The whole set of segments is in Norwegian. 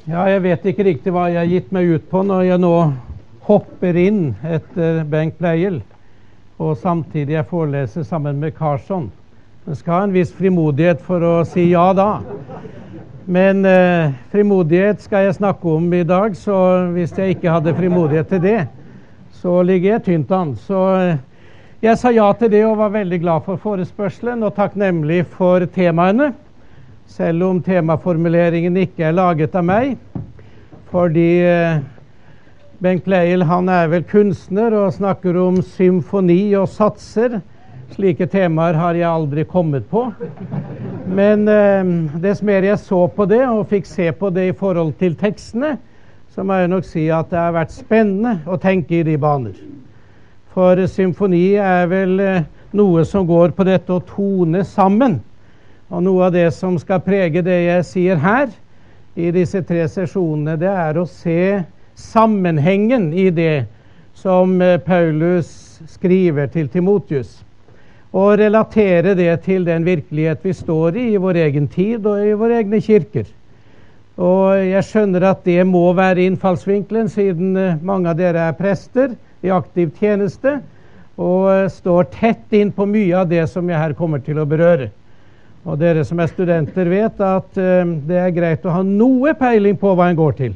Ja, jeg vet ikke riktig hva jeg har gitt meg ut på når jeg nå hopper inn etter Bengt Pleijel, og samtidig jeg foreleser sammen med Karlsson. Man skal ha en viss frimodighet for å si ja da. Men frimodighet skal jeg snakke om i dag, så hvis jeg ikke hadde frimodighet til det, så ligger jeg tynt an. Så jeg sa ja til det og var veldig glad for forespørselen, og takknemlig for temaene. Selv om temaformuleringen ikke er laget av meg, fordi Bengt Pleijel han er vel kunstner og snakker om symfoni og satser. Slike temaer har jeg aldri kommet på. Men dess mer jeg så på det og fikk se på det i forhold til tekstene, så må jeg nok si at det har vært spennende å tenke i de baner. For symfoni er vel noe som går på dette å tone sammen. Og noe av det som skal prege det jeg sier her, i disse 3 sesjonene, det er å se sammenhengen i det som Paulus skriver til Timotheus. Og relatere det til den virkelighet vi står i vår egen tid og i våre egne kirker. Og jeg skjønner at det må være innfallsvinkelen, siden mange av dere er prester i aktiv tjeneste, og står tett inn på mye av det som jeg her kommer til å berøre. Og dere som er studenter vet at det er greit å ha noe peiling på hva en går til.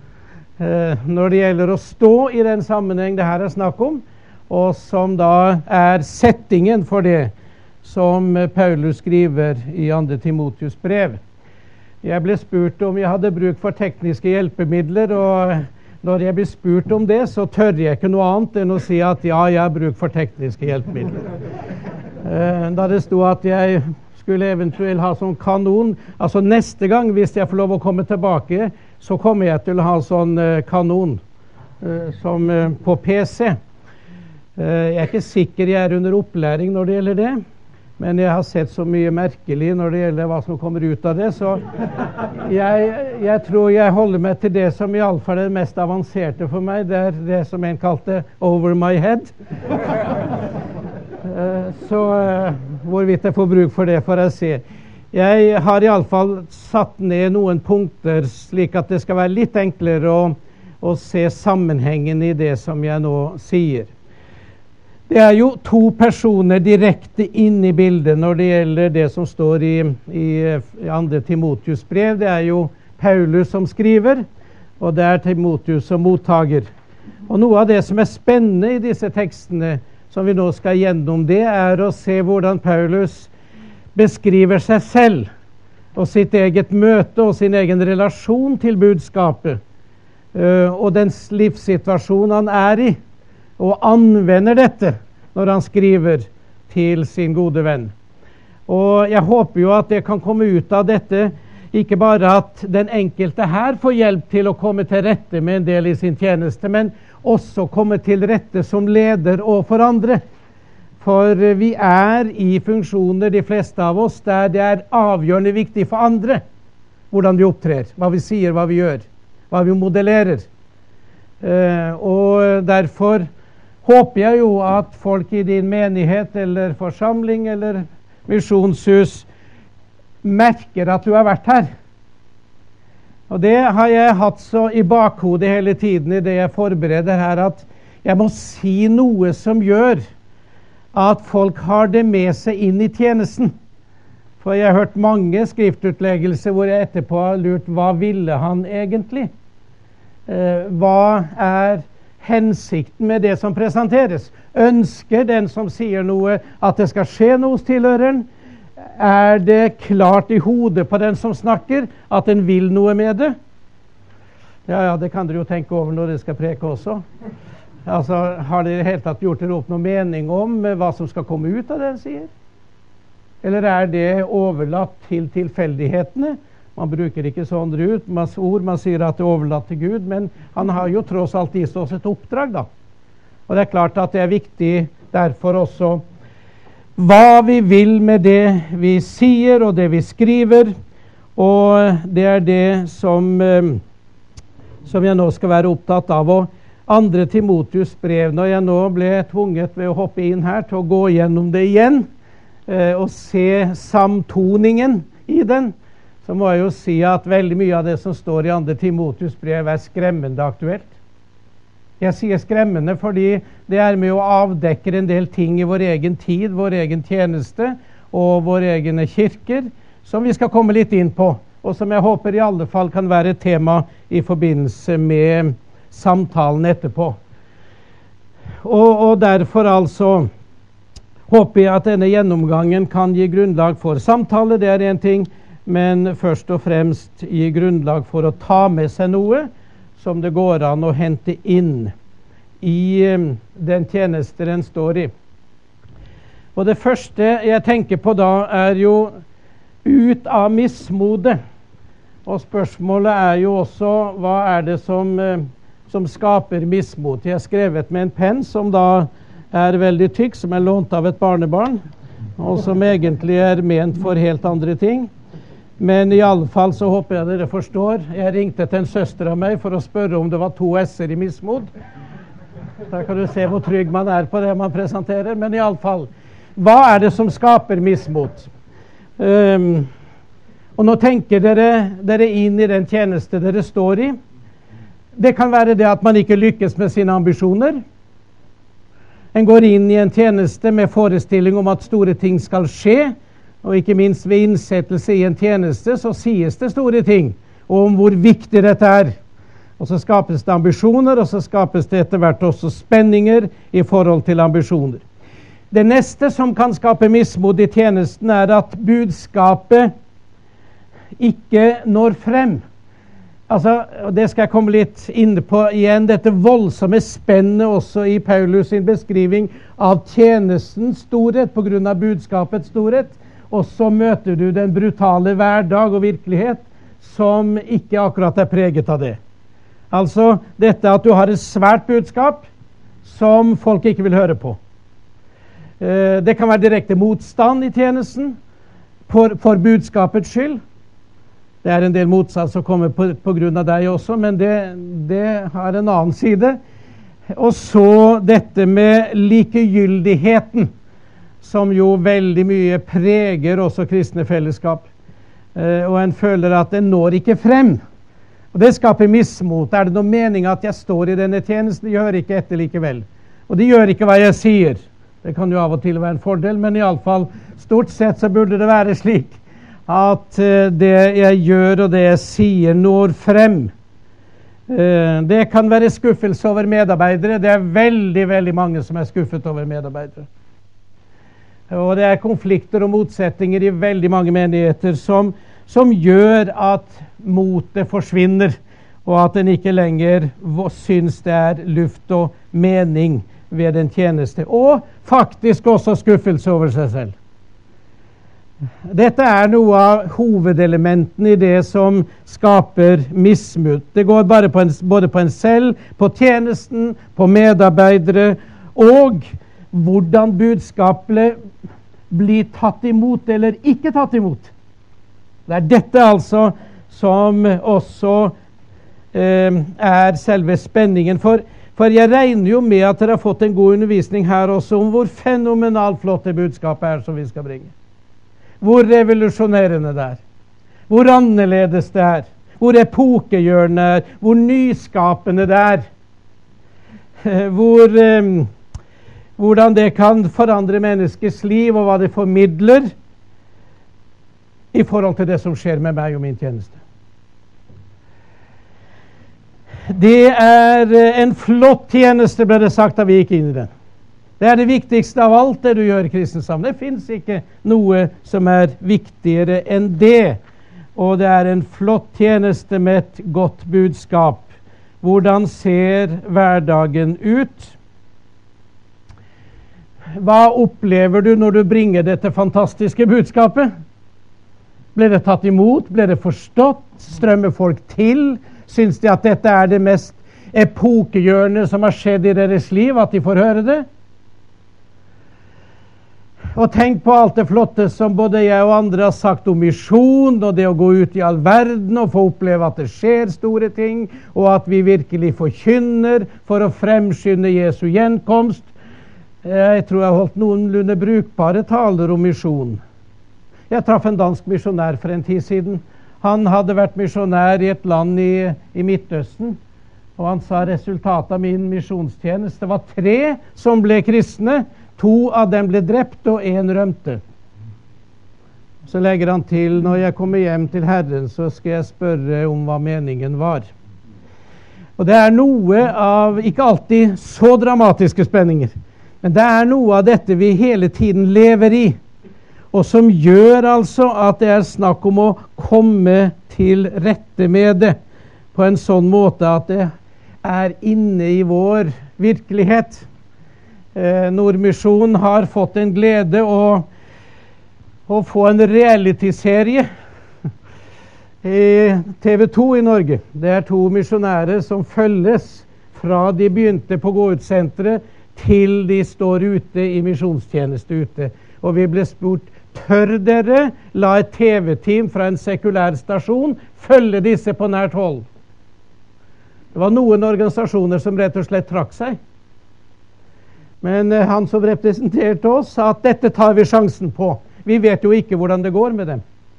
Når det gjelder å stå i den sammenheng det her er snakk om, og som da er settingen for det som Paulus skriver i 2. Timotheus brev. Jeg ble spurt om jeg hadde bruk for tekniske hjelpemidler, og når jeg blir spurt om det, så tør jeg ikke noe annet enn å si at ja, jeg har bruk for tekniske hjelpemidler. Da det sto at jeg skulle eventuelt ha sånn kanon, altså neste gang hvis jeg får lov å komme tilbake, så kommer jeg til å ha sånn kanon som på PC. Jeg er ikke sikker jeg er under opplæring når det gjelder det, men jeg har sett så mye merkelig når det gjelder hva som kommer ut av det, så jeg tror jeg holder meg til det som i alle fall er det mest avanserte for meg. Det er det som en kalte over my head. Så hvorvidt jeg får bruk for det får jeg se. Jeg har i alle fall satt ned noen punkter slik at det skal være litt enklere å se sammenhengen i det som jeg nå sier. Det er jo 2 personer direkte inn i bildet når det gjelder det som står i 2. Timotheus brev. Det er jo Paulus som skriver, og det er Timotheus som mottager. Og noe av det som er spennende i disse tekstene som vi nå skal gjennom, det er å se hvordan Paulus beskriver seg selv og sitt eget møte og sin egen relasjon til budskapet og den livssituasjon han er i, og anvender dette når han skriver til sin gode venn. Og jeg håper jo at det kan komme ut av dette, ikke bare at den enkelte her får hjelp til å komme til rette med en del i sin tjeneste, men også komme til rette som leder og for andre. For vi er i funksjoner, de fleste av oss, der det er avgjørende viktig for andre hvordan vi opptrer, hva vi sier, hva vi gjør, hva vi modellerer. Og derfor håper jeg jo at folk i din menighet eller forsamling eller misjonshus merker at du har vært her. Og det har jeg hatt så i bakhodet hele tiden i det jeg forbereder her, at jeg må si noe som gjør at folk har det med seg inn i tjenesten. For jeg har hørt mange skriftutleggelser hvor jeg etterpå har lurt, hva ville han egentlig? Hva er hensikten med det som presenteres? Ønsker den som sier noe at det skal skje noe hos tilhøreren? Er det klart i hodet på den som snakker at den vil noe med det? Ja, det kan dere jo tenke over når dere skal preke også. Altså, har dere helt tatt gjort dere opp noe mening om hva som skal komme ut av det den sier? Eller er det overlatt til tilfeldighetene? Man bruker ikke sånne ord, man sier at det er overlatt til Gud, men han har jo tross alt gitt oss et oppdrag da. Og det er klart at det er viktig derfor også hva vi vil med det vi sier og det vi skriver, og det er det som jeg nå skal være opptatt av. Og 2. Timotheus brev, når jeg nå ble tvunget ved å hoppe inn her til å gå gjennom det igjen og se samtoningen i den, så må jeg jo si at veldig mye av det som står i 2. Timotheus brev er skremmende aktuelt. Jeg sier skremmende fordi det er med å avdekke en del ting i vår egen tid, vår egen tjeneste og våre egne kirker, som vi skal komme litt inn på, og som jeg håper i alle fall kan være et tema i forbindelse med samtalen etterpå. Og derfor altså håper jeg at denne gjennomgangen kan gi grunnlag for samtale, det er en ting, men først og fremst gi grunnlag for å ta med seg noe som det går an å hente inn i den tjeneste den står i. Og det første jeg tenker på da er jo ut av mismode. Og spørsmålet er jo også, hva er det som skaper mismot? Jeg har skrevet med en penn som da er veldig tykk, som er lånt av et barnebarn, og som egentlig er ment for helt andre ting. Men i alle fall så håper jeg dere forstår. Jeg ringte til en søster av meg for å spørre om det var 2 s-er i mismod. Da kan du se hvor trygg man er på det man presenterer. Men i alle fall, hva er det som skaper mismot? Og nå tenker dere inn i den tjeneste dere står i. Det kan være det at man ikke lykkes med sine ambisjoner. En går inn i en tjeneste med forestilling om at store ting skal skje, og ikke minst ved innsettelse i en tjeneste så sies det store ting om hvor viktig dette er. Og så skapes det ambisjoner, og så skapes det etter hvert også spenninger i forhold til ambisjoner. Det neste som kan skape mismod i tjenesten er at budskapet ikke når frem. Altså, det skal jeg komme litt inn på igjen, dette voldsomme spennet også i Paulus sin beskriving av tjenestens storhet på grunn av budskapets storhet. Og så møter du den brutale hverdag og virkelighet som ikke akkurat er preget av det. Altså dette at du har et svært budskap som folk ikke vil høre på. Det kan være direkte motstand i tjenesten for budskapets skyld. Det er en del motstand som kommer på grunn av deg også, men det har en annen side. Og så dette med likegyldigheten, som jo veldig mye preger også kristne fellesskap. Og en føler at den når ikke frem. Og det skaper mismot. Er det noen mening at jeg står i denne tjenesten? De gjør ikke etter likevel. Og de gjør ikke hva jeg sier. Det kan jo av og til være en fordel, men i alle fall, stort sett så burde det være slik at det jeg gjør og det jeg sier når frem. Det kan være skuffelse over medarbeidere. Det er veldig, veldig mange som er skuffet over medarbeidere. Og det er konflikter og motsetninger i veldig mange menigheter som gjør at motet forsvinner, og at en ikke lenger syns det er luft og mening ved den tjeneste. Og faktisk også skuffelse over seg selv. Dette er noe av hovedelementene i det som skaper mismot. Det går både på en selv, på tjenesten, på medarbeidere, og hvordan budskapet blir tatt imot eller ikke tatt imot. Det er dette altså som også er selve spenningen. For jeg regner jo med at dere har fått en god undervisning her også om hvor fenomenalt flott det budskapet er som vi skal bringe. Hvor revolusjonerende det er. Hvor annerledes det er. Hvor epokegjørende det er. Hvor nyskapende det er. Hvordan det kan forandre menneskers liv, og hva det formidler i forhold til det som skjer med meg og min tjeneste. Det er en flott tjeneste, ble det sagt da vi gikk inn i den. Det er det viktigste av alt det du gjør i kristens sammen. Det finnes ikke noe som er viktigere enn det. Og det er en flott tjeneste med et godt budskap. Hvordan ser hverdagen ut? Hva opplever du når du bringer dette fantastiske budskapet? Ble det tatt imot? Ble det forstått? Strømmer folk til? Syns de at dette er det mest epokegjørende som har skjedd i deres liv, at de får høre det? Og tenk på alt det flotte som både jeg og andre har sagt om misjon, og det å gå ut i all verden og få oppleve at det skjer store ting, og at vi virkelig forkynner for å fremskynde Jesu gjenkomst. Jeg tror jeg har holdt noenlunde brukbare taler om misjon. Jeg traff en dansk misjonær for en tid siden. Han hadde vært misjonær i et land i Midtøsten, og han sa resultatet av min misjonstjeneste var 3 som ble kristne, 2 av dem ble drept, og 1 rømte. Så legger han til, når jeg kommer hjem til Herren, så skal jeg spørre om hva meningen var. Og det er noe av, ikke alltid så dramatiske spenninger, men det er noe av dette vi hele tiden lever i, og som gjør altså at det er snakk om å komme til rette med det på en sånn måte at det er inne i vår virkelighet. Nordmisjon har fått en glede å få en realityserie i TV 2 i Norge. Det er 2 misjonærer som følges fra de begynte på gå-ut-senteret til de står ute i misjonstjeneste ute. Og vi ble spurt, tør dere la et TV-team fra en sekulær stasjon følge disse på nært hold? Det var noen organisasjoner som rett og slett trakk seg. Men han som representerte oss sa at dette tar vi sjansen på. Vi vet jo ikke hvordan det går med dem.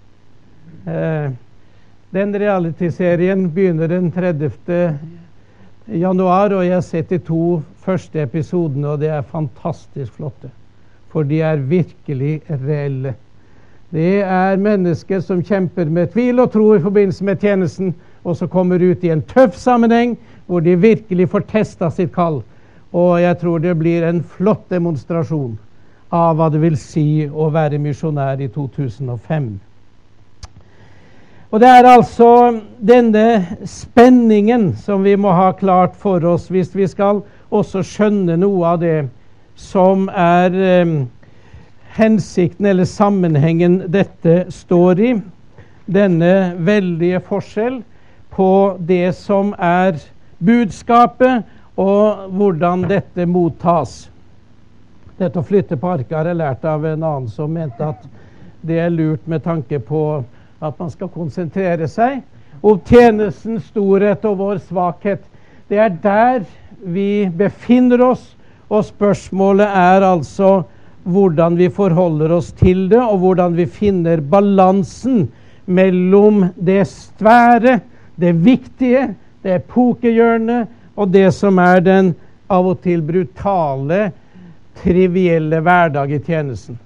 Den realityserien begynner den 30. januar, og jeg har sett de 2 første episodene, og det er fantastisk flotte. For de er virkelig reelle. Det er mennesker som kjemper med tvil og tro i forbindelse med tjenesten, og så kommer ut i en tøff sammenheng, hvor de virkelig får testet sitt kall. Og jeg tror det blir en flott demonstrasjon av hva det vil si å være misjonær i 2005. Og det er altså denne spenningen som vi må ha klart for oss, hvis vi skal også skjønne noe av det som er hensikten eller sammenhengen dette står i. Denne veldige forskjell på det som er budskapet, og hvordan dette mottas. Dette å flytte på arket har jeg lært av en annen som mente at det er lurt med tanke på at man skal konsentrere seg om tjenestens storhet og vår svakhet. Det er der vi befinner oss, og spørsmålet er altså hvordan vi forholder oss til det, og hvordan vi finner balansen mellom det svære, det viktige, det epokehjørnet, og det som er den av og til brutale, trivielle hverdag i tjenesten.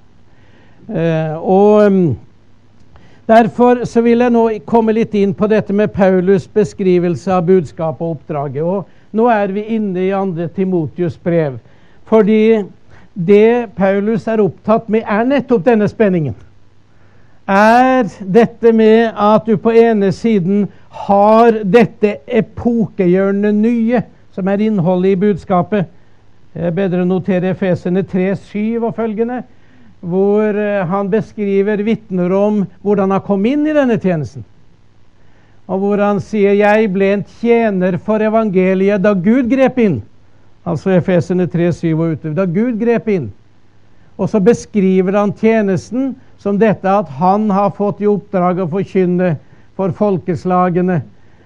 Derfor så vil jeg nå komme litt inn på dette med Paulus beskrivelse av budskap og oppdraget. Og nå er vi inne i 2. Timotheus brev, fordi det Paulus er opptatt med er nettopp denne spenningen. Er dette med at du på ene siden har dette epokehjørnet nye, som er innholdet i budskapet. Det er bedre å notere Efeserne 3:7 og følgende, hvor han beskriver vitner om hvordan han kom inn i denne tjenesten. Og hvor han sier, jeg ble en tjener for evangeliet da Gud grep inn. Altså Efeserne 3:7 og utover. Da Gud grep inn. Og så beskriver han tjenesten som dette at han har fått i oppdrag å forkynne for folkeslagene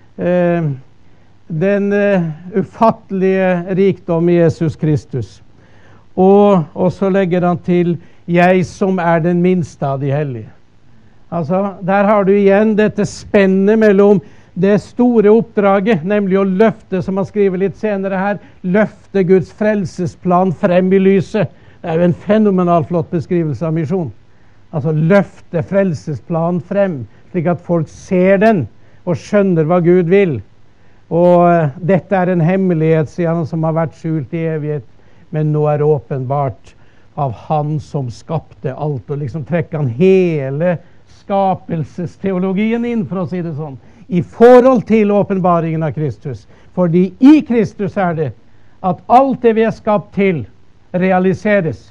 den ufattelige rikdom i Jesus Kristus. Og så legger han til, jeg som er den minste av de hellige. Altså, der har du igjen dette spennet mellom det store oppdraget, nemlig å løfte, som han skriver litt senere her, løfte Guds frelsesplan frem i lyset. Det er jo en fenomenal flott beskrivelse av misjon. Altså løfte frelsesplanen frem, slik at folk ser den og skjønner hva Gud vil. Og dette er en hemmelighet, sier han, som har vært skjult i evighet, men nå er åpenbart av han som skapte alt. Og liksom trekker han hele skapelsesteologien inn, for å si det sånn, i forhold til åpenbaringen av Kristus. Fordi i Kristus er det at alt det vi er skapt til, realiseres.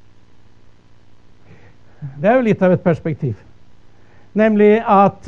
Det er jo litt av et perspektiv. Nemlig at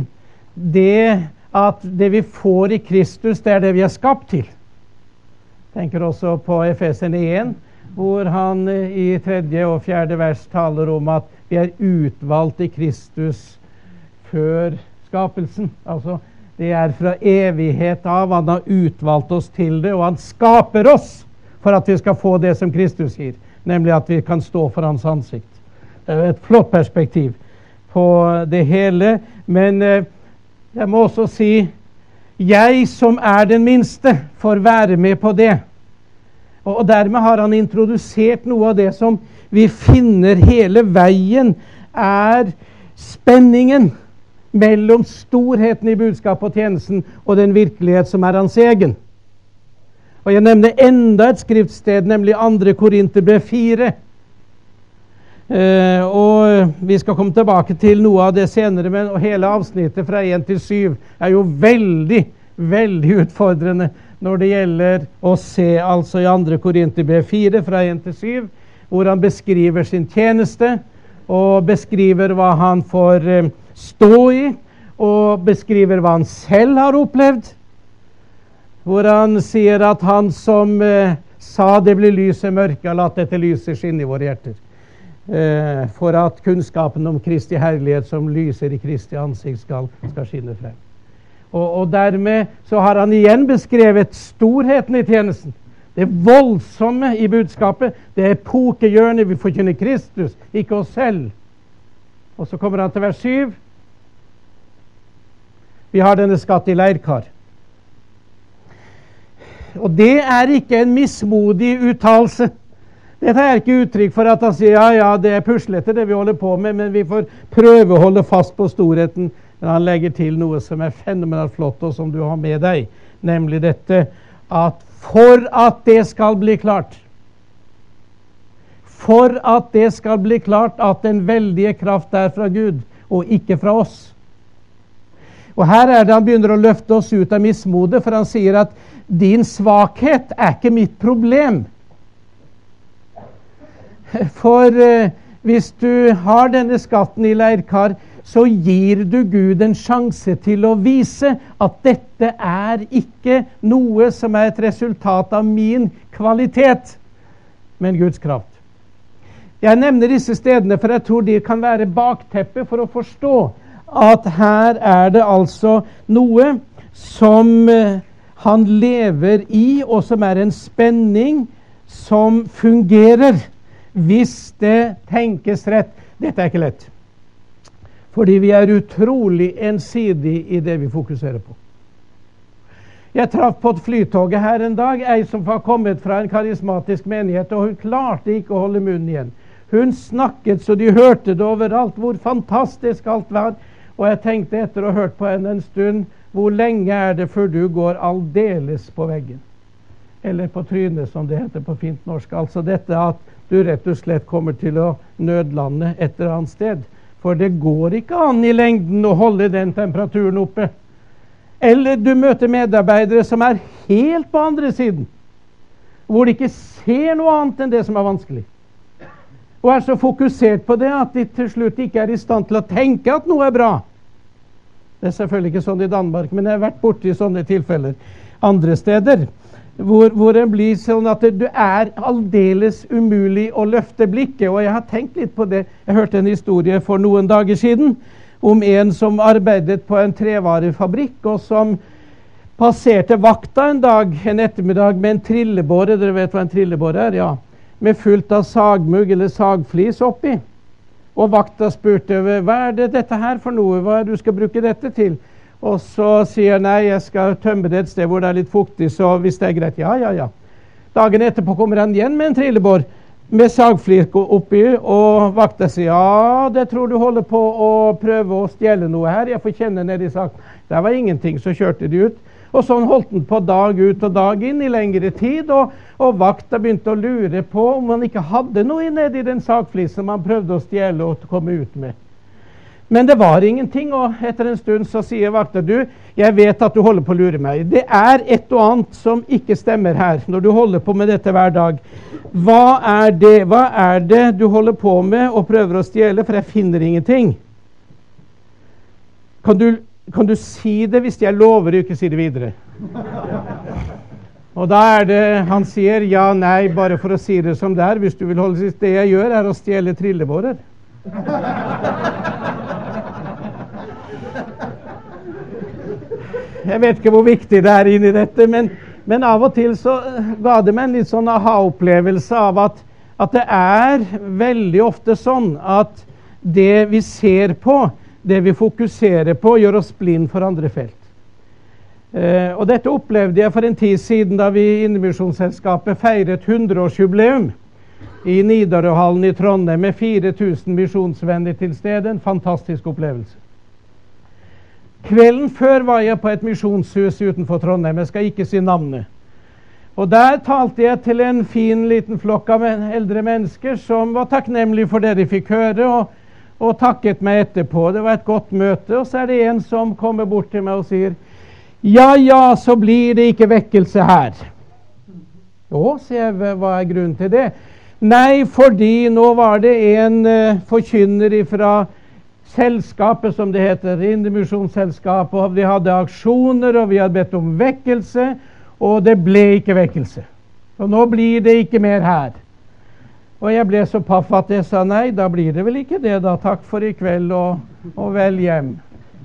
det vi får i Kristus, det er det vi er skapt til. Jeg tenker også på Efeserne 1, hvor han i 3. og 4. vers taler om at vi er utvalgt i Kristus før skapelsen. Altså, det er fra evighet av. Han har utvalgt oss til det, og han skaper oss for at vi skal få det som Kristus gir, nemlig at vi kan stå for hans ansikt. Det er et flott perspektiv på det hele, men Jeg må også si, jeg som er den minste, får være med på det. Og dermed har han introdusert noe av det som vi finner hele veien, er spenningen mellom storheten i budskapet og tjenesten og den virkelighet som er hans egen. Og jeg nevner enda et skriftsted, nemlig 2. Korinterbrev 4. Og vi skal komme tilbake til noe av det senere, men hele avsnittet fra 1 til 7 er jo veldig, veldig utfordrende når det gjelder å se, altså i 2. Korinterbrev 4 fra 1 til 7, hvor han beskriver sin tjeneste, og beskriver hva han får stå i, og beskriver hva han selv har opplevd, hvor han sier at han som sa det blir lys i mørket, har latt dette lyset skinne i våre hjerter. For at kunnskapen om Kristi herlighet som lyser i Kristi ansikt skal skinne frem. Og dermed så har han igjen beskrevet storheten i tjenesten. Det voldsomme i budskapet, det epokehjørnet vi forkynner Kristus, ikke oss selv. Og så kommer han til vers 7. Vi har denne skatt i leirkar. Og det er ikke en mismodig uttalelse. Dette er ikke uttrykk for at han sier, ja, det er puslete det vi holder på med, men vi får prøve å holde fast på storheten. Men han legger til noe som er fenomenalt flott, og som du har med deg, nemlig dette, at for at det skal bli klart, at den veldige kraft er fra Gud, og ikke fra oss. Og her er det han begynner å løfte oss ut av mismode, for han sier at din svakhet er ikke mitt problem. For hvis du har denne skatten i leirkar, så gir du Gud en sjanse til å vise at dette er ikke noe som er et resultat av min kvalitet, men Guds kraft. Jeg nevner disse stedene, for jeg tror de kan være bakteppe for å forstå at her er det altså noe som han lever i, og som er en spenning som fungerer hvis det tenkes rett. Dette er ikke lett, fordi vi er utrolig ensidig i det vi fokuserer på. Jeg traff på et flytoget her en dag, ei som var kommet fra en karismatisk menighet, og hun klarte ikke å holde munnen igjen. Hun snakket så de hørte det overalt, hvor fantastisk alt var. Og jeg tenkte etter å ha hørt på henne en stund, hvor lenge er det før du går aldeles på veggen? Eller på trynet, som det heter på fint norsk. Altså dette at du rett og slett kommer til å nødlande et eller annet sted. For det går ikke an i lengden å holde den temperaturen oppe. Eller du møter medarbeidere som er helt på andre siden, hvor de ikke ser noe annet enn det som er vanskelig. Og er så fokusert på det at de til slutt ikke er i stand til å tenke at noe er bra. Det er selvfølgelig ikke sånn i Danmark, men jeg har vært borte i sånne tilfeller andre steder, hvor det blir sånn at det er aldeles umulig å løfte blikket. Og jeg har tenkt litt på det. Jeg hørte en historie for noen dager siden om en som arbeidet på en trevarefabrikk, og som passerte vakta en ettermiddag med en trillebåre. Dere vet hva en trillebåre er? Ja. Med fullt av sagmugg eller sagflis oppi. Og vakta spurte, hva er det dette her for noe? Hva er det du skal bruke dette til? Og så sier nei, jeg skal tømme det et sted hvor det er litt fuktig, så hvis det er greit, ja. Dagen etterpå kommer han igjen med en trillebår med sagflis oppi, og vakta sier, ja, det tror du holder på å prøve å stjele noe her, jeg får kjenne ned i saken. Det var ingenting, så kjørte de ut. Og sånn holdt den på dag ut og dag inn i lengre tid, og vakta begynte å lure på om han ikke hadde noe nede i den sagflisen man prøvde å stjele og komme ut med. Men det var ingenting, og etter en stund så sier vakta, du, jeg vet at du holder på å lure meg. Det er et og annet som ikke stemmer her, når du holder på med dette hver dag. Hva er det du holder på med og prøver å stjele, for jeg finner ingenting? Kan du si det hvis jeg lover å ikke si det videre? Og da er det, han sier, ja, nei, bare for å si det som det er, hvis du vil holde sist, det jeg gjør er å stjele trillebårer. Jeg vet ikke hvor viktig det er inn i dette, men av og til så ga det meg en litt sånn aha-opplevelse av at det er veldig ofte sånn at det vi ser på, det vi fokuserer på, gjør oss blind for andre felt. Og dette opplevde jeg for en tid siden da vi i Indremisjonsselskapet feiret 100-årsjubileum i Nidarøhallen i Trondheim med 4000 misjonsvenner til stede. En fantastisk opplevelse. Kvelden før var jeg på et misjonshus utenfor Trondheim. Jeg skal ikke si navnet. Og der talte jeg til en fin liten flokk av eldre mennesker som var takknemlige for det de fikk høre, og takket meg etterpå. Det var et godt møte. Og så er det en som kommer bort til meg og sier, ja, så blir det ikke vekkelse her. Jo, sier jeg, hva er grunnen til det? Nei, fordi nå var det en forkynner fra selskapet, som det heter, Indremisjonsselskapet, og vi hadde aksjoner, og vi hadde bedt om vekkelse, og det ble ikke vekkelse. Og nå blir det ikke mer her. Og jeg ble så paff at jeg sa, nei, da blir det vel ikke det da. Takk for i kveld, og vel hjem.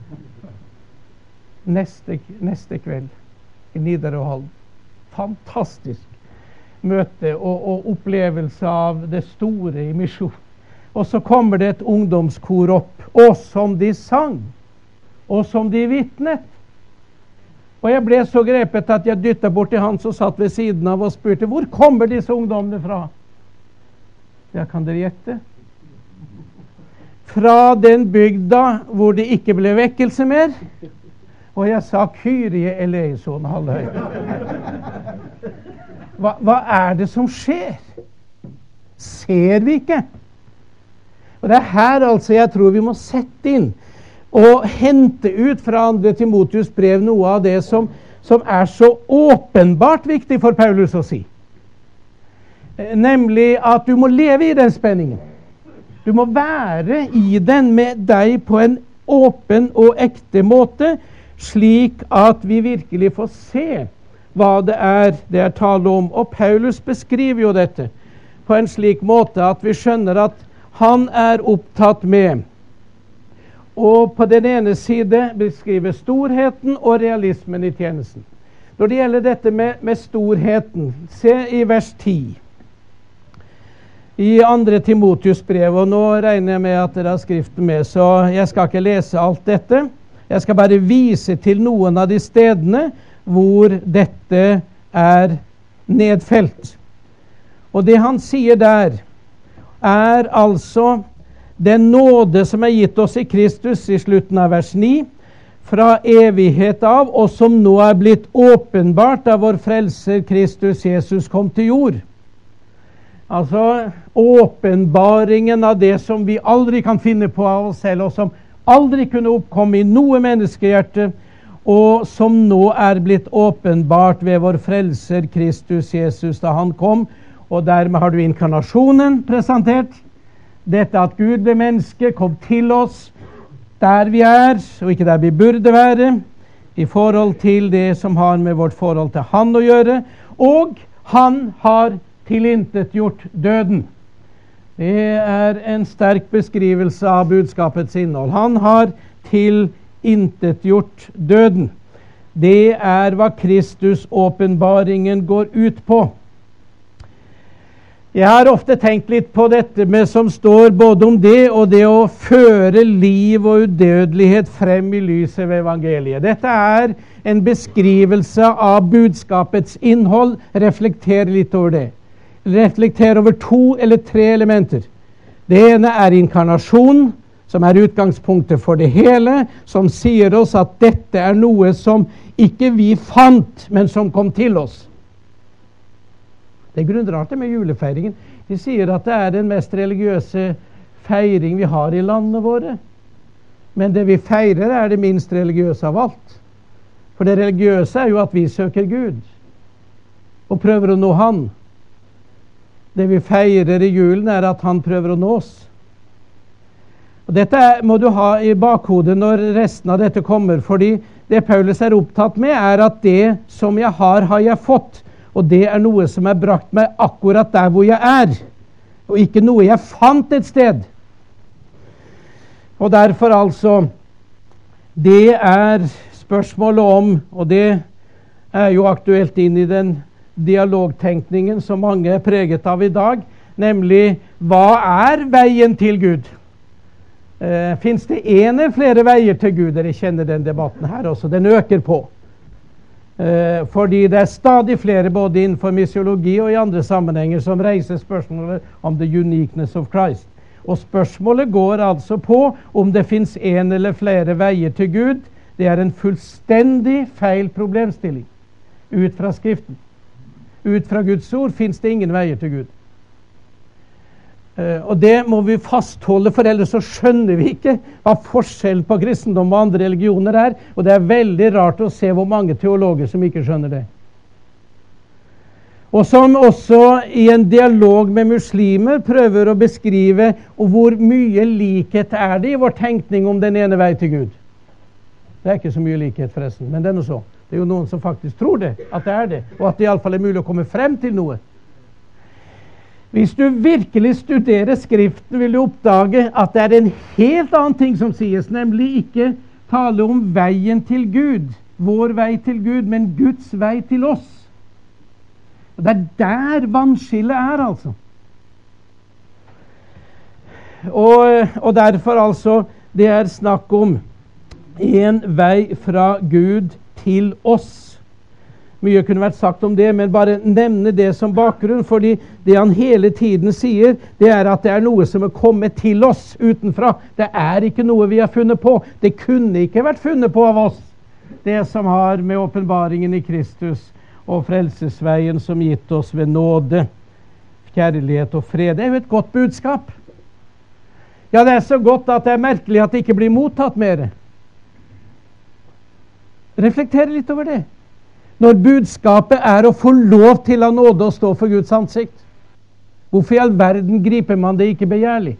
Neste kveld i Nidarøhallen. Fantastisk møte og opplevelse av det store i misjon. Og så kommer det et ungdomskor opp, og som de sang, og som de vittnet. Og jeg ble så grepet at jeg dyttet bort til han som satt ved siden av og spurte, hvor kommer disse ungdommene fra? Ja, kan dere gjette? Fra den bygda hvor det ikke ble vekkelse mer. Og jeg sa Kyrie eleison halvhøy. Hva er det som skjer? Ser vi ikke? Og det er her altså jeg tror vi må sette inn og hente ut fra 2. Timotheus brev noe av det som er så åpenbart viktig for Paulus å si. Nemlig at du må leve i den spenningen. Du må være i den med deg på en åpen og ekte måte, slik at vi virkelig får se hva det er tale om. Og Paulus beskriver jo dette på en slik måte at vi skjønner at han er opptatt med og på den ene side beskriver storheten og realismen i tjenesten. Når det gjelder dette med storheten, se i vers 10 i 2. Timotheus brev, og nå regner jeg med at dere har skriften med, så jeg skal ikke lese alt dette. Jeg skal bare vise til noen av de stedene hvor dette er nedfelt. Og det han sier der, er altså den nåde som er gitt oss i Kristus i slutten av vers 9, fra evighet av, og som nå er blitt åpenbart da vår frelser Kristus Jesus kom til jord. Altså åpenbaringen av det som vi aldri kan finne på av oss selv, og som aldri kunne oppkomme i noe menneskehjerte, og som nå er blitt åpenbart ved vår frelser Kristus Jesus da han kom. Og dermed har du inkarnasjonen presentert. Dette at Gud ble menneske, kom til oss der vi er, og ikke der vi burde være, i forhold til det som har med vårt forhold til han å gjøre. Og han har tilintetgjort døden. Det er en sterk beskrivelse av budskapets innhold. Han har tilintetgjort døden. Det er hva Kristus åpenbaringen går ut på. Jeg har ofte tenkt litt på dette med som står både om det og det å føre liv og udødelighet frem i lyset ved evangeliet. Dette er en beskrivelse av budskapets innhold. Reflekter litt over det. Reflekter over 2 eller 3 elementer. Det ene er inkarnasjon, som er utgangspunktet for det hele, som sier oss at dette er noe som ikke vi fant, men som kom til oss. Det er grunnrart med julefeiringen. De sier at det er den mest religiøse feiring vi har i landene våre. Men det vi feirer er det minst religiøse av alt. For det religiøse er jo at vi søker Gud og prøver å nå Han. Det vi feirer i julen er at Han prøver å nå oss. Og dette må du ha i bakhodet når resten av dette kommer, fordi det Paulus er opptatt med er at det som jeg har jeg fått. Og det er noe som er brakt meg akkurat der hvor jeg er, og ikke noe jeg fant et sted. Og derfor altså, det er spørsmålet om, og det er jo aktuelt inn i den dialogtenkningen som mange er preget av i dag, nemlig hva er veien til Gud? Finnes det en eller flere veier til Gud? Dere kjenner den debatten her også. Den øker på. Fordi det stadig flere både innenfor misiologi og i andre sammenhenger som reiser spørsmålet om the uniqueness of Christ. Og spørsmålet går altså på om det finnes en eller flere veier til Gud. Det en fullstendig feil problemstilling ut fra Skriften. Ut fra Guds ord finnes det ingen veier til Gud. Og det må vi fastholde, for ellers så skjønner vi ikke hva forskjellen på kristendom og andre religioner og det veldig rart å se hvor mange teologer som ikke skjønner det. Og som også i en dialog med muslimer prøver å beskrive hvor mye likhet det i vår tenkning om den ene vei til Gud. Det ikke så mye likhet forresten, men det noe så. Det jo noen som faktisk tror det, at det det, og at det i alle fall mulig å komme frem til noe. Hvis du virkelig studerer Skriften, vil du oppdage at det en helt annen ting som sies, nemlig ikke tale om veien til Gud, vår vei til Gud, men Guds vei til oss. Og det der vannskillet altså. Og derfor altså, det snakk om en vei fra Gud til oss. Mye kunne vært sagt om det, men bare nevne det som bakgrunn, fordi det han hele tiden sier, det at det noe som kommet til oss utenfra. Det ikke noe vi har funnet på. Det kunne ikke vært funnet på av oss. Det som har med åpenbaringen i Kristus og frelsesveien som gitt oss ved nåde, kjærlighet og fred. Det jo et godt budskap. Ja, det så godt at det merkelig at det ikke blir mottatt mer. Reflekter litt over det. Når budskapet å få lov til av nåde å stå for Guds ansikt. Hvorfor i all verden griper man det ikke begjærlig?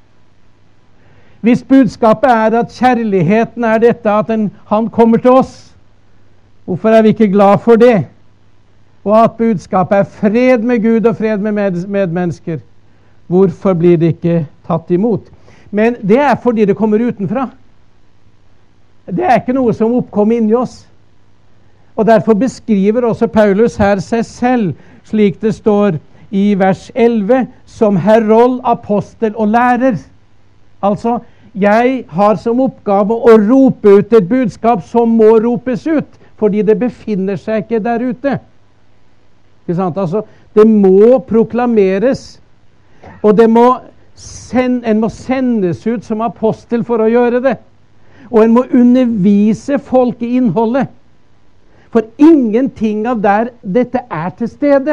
Hvis budskapet at kjærligheten dette, at han kommer til oss, hvorfor vi ikke glad for det? Og at budskapet fred med Gud og fred med medmennesker, hvorfor blir det ikke tatt imot? Men det fordi det kommer utenfra. Det ikke noe som oppkom inni oss. Og derfor beskriver også Paulus her seg selv, slik det står i vers 11, som herold, apostel og lærer. Altså, jeg har som oppgave å rope ut et budskap som må ropes ut, fordi det befinner seg ikke der ute. Ikke sant? Altså, det må proklameres, og en må sendes ut som apostel for å gjøre det. Og en må undervise folk i innholdet. For ingenting av dette til stede.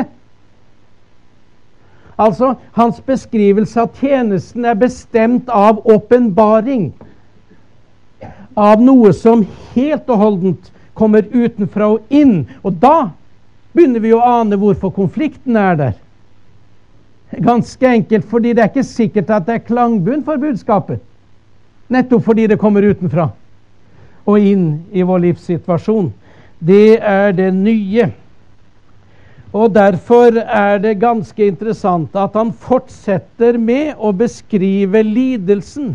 Altså, hans beskrivelse av tjenesten bestemt av åpenbaring. Av noe som helt og holdent kommer utenfra og inn. Og da begynner vi å ane hvorfor konflikten der. Ganske enkelt, fordi det ikke sikkert at det klangbunn for budskapet. Nettopp fordi det kommer utenfra og inn i vår livssituasjon. Det det nye. Og derfor det ganske interessant at han fortsetter med å beskrive lidelsen.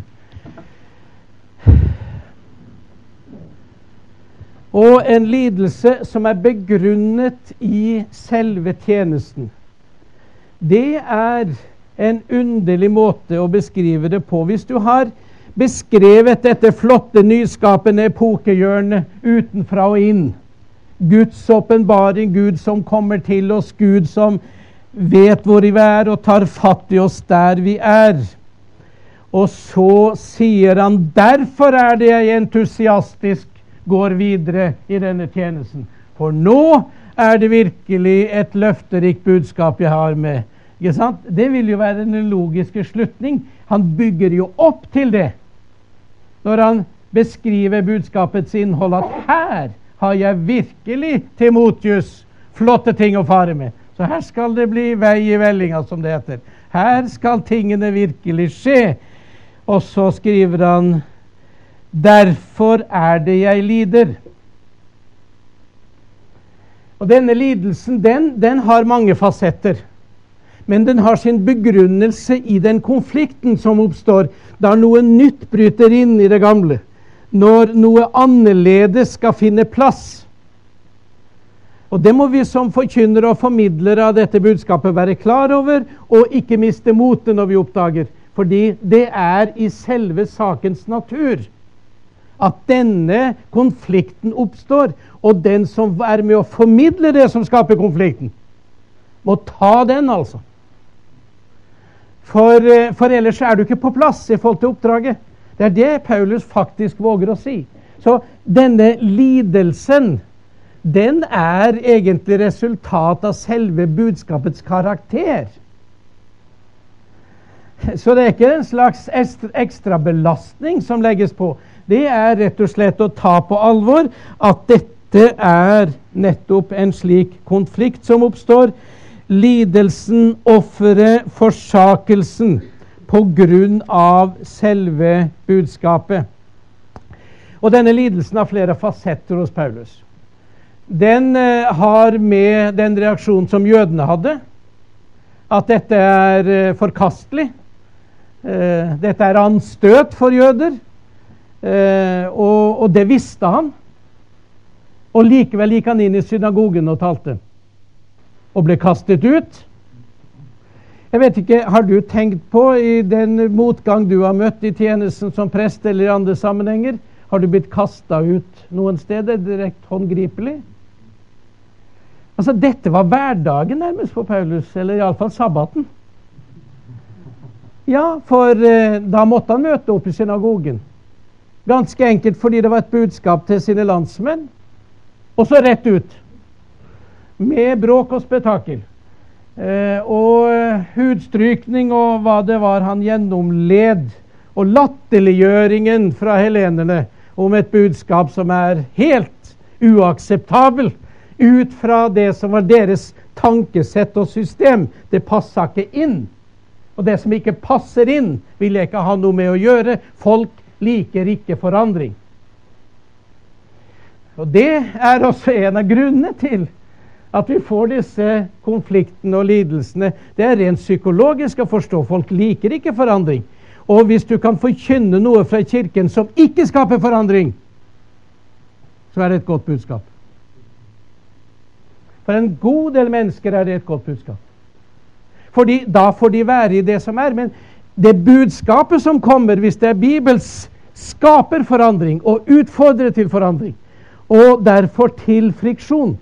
Og en lidelse som begrunnet i selve tjenesten. Det en underlig måte å beskrive det på. Hvis du har beskrevet dette flotte, nyskapende epokehjørnet utenfra og inn, Guds åpenbaring, Gud som kommer til oss, Gud som vet hvor vi og tar fatt i oss der vi Og så sier han, derfor det jeg entusiastisk går videre i denne tjenesten. For nå det virkelig et løfterikt budskap jeg har med. Ikke sant? Det vil jo være en logiske slutning. Han bygger jo opp til det. Når han beskriver budskapets innhold, at her har jeg virkelig Timotius flotte ting å fare med. Så her skal det bli vei i vellinga, som det heter. Her skal tingene virkelig skje. Og så skriver han, derfor det jeg lider. Og denne lidelsen, den har mange fasetter. Men den har sin begrunnelse i den konflikten som oppstår, da noe nytt bryter inn i det gamle. Når noe annerledes skal finne plass. Og det må vi som forkynnere og formidlere av dette budskapet være klar over, og ikke miste motet når vi oppdager. Fordi det i selve sakens natur at denne konflikten oppstår, og den som med å formidle det som skaper konflikten, må ta den, altså. For ellers er du ikke på plass i forhold til oppdraget. Det det Paulus faktisk våger å si. Så denne lidelsen, den egentlig resultat av selve budskapets karakter. Så det ikke en slags ekstra belastning som legges på. Det rett og slett å ta på alvor at dette nettopp en slik konflikt som oppstår. Lidelsen, offeret, forsakelsen på grunn av selve budskapet. Og denne lidelsen har flere fasetter hos Paulus. Den har med den reaksjon som jødene hadde, at dette forkastelig. Dette anstøt for jøder, og det visste han. Og likevel gikk han inn i synagogen og talte, og ble kastet ut. Jeg vet ikke, har du tenkt på i den motgang du har møtt i tjenesten som prest eller i andre sammenhenger, har du blitt kastet ut noen steder, direkte håndgripelig? Altså, dette var hverdagen nærmest for Paulus, eller i alle fall sabbaten. Ja, for da måtte han møte opp i synagogen. Ganske enkelt fordi det var et budskap til sine landsmenn. Og så rett ut. Med bråk og spetakkel. Og hudstrykning og hva det var han gjennomled. Og latterliggjøringen fra helenerne om et budskap som helt uakseptabel ut fra det som var deres tankesett og system. Det passet ikke inn. Og det som ikke passer inn, vil jeg ikke ha noe med å gjøre. Folk liker ikke forandring. Og det også en av grunnene til at vi får disse konfliktene og lidelsene. Det rent psykologisk å forstå. Folk liker ikke forandring. Og hvis du kan forkynne noe fra kirken som ikke skaper forandring, så det et godt budskap. For en god del mennesker det et godt budskap. Fordi da får de være i det som men det budskapet som kommer, hvis det Bibels, skaper forandring og utfordrer til forandring, og derfor til friksjon.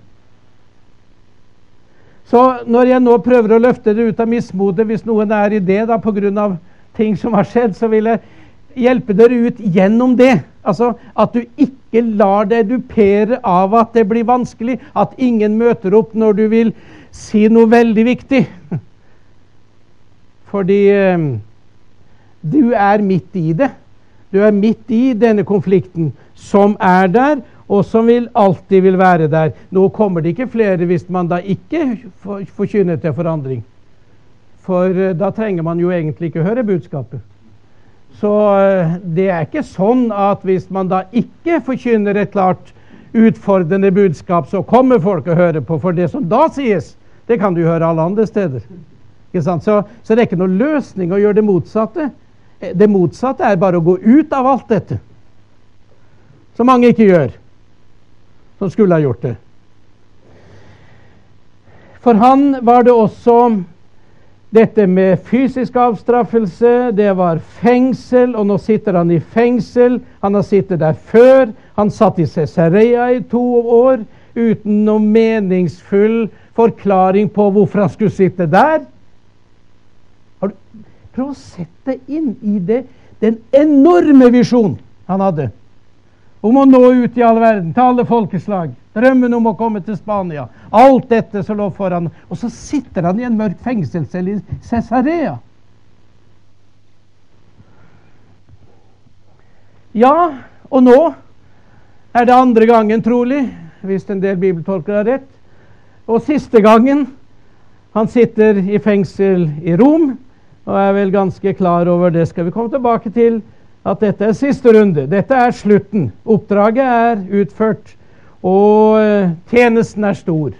Så når jeg nå prøver å løfte det ut av mismodet, hvis noen i det da, på grunn av ting som har skjedd, så vil jeg hjelpe dere ut gjennom det. Altså at du ikke lar deg dupere av at det blir vanskelig, at ingen møter opp når du vil si noe veldig viktig. Fordi du midt i det. Du midt i denne konflikten som der, og som alltid vil være der. Nå kommer det ikke flere hvis man da ikke forkynner til forandring. For da trenger man jo egentlig ikke høre budskapet. Så det ikke sånn at hvis man da ikke forkynner et klart utfordrende budskap, så kommer folk å høre på. For det som da sies, det kan du høre alle andre steder. Ikke sant? Så det ikke noen løsning å gjøre det motsatte. Det motsatte bare å gå ut av alt dette. Som mange ikke gjør. Som skulle ha gjort det. For han var det også dette med fysisk avstraffelse, det var fengsel, og nå sitter han i fengsel. Han har sittet der før. Han satt i Caesarea i 2 år uten noen meningsfull forklaring på hvorfor han skulle sitte der. Prøv å sette inn i det den enorme visjon han hadde om å nå ut i all verden, til alle folkeslag, drømmen om å komme til Spania, alt dette som lå foran, og så sitter han i en mørk fengselscelle i Caesarea. Ja, og nå det andre gangen trolig, hvis en del bibeltolkere har rett, og siste gangen han sitter i fengsel i Rom, og vel ganske klar over det skal vi komme tilbake til, at dette siste runde. Dette slutten. Oppdraget utført, og tjenesten stor.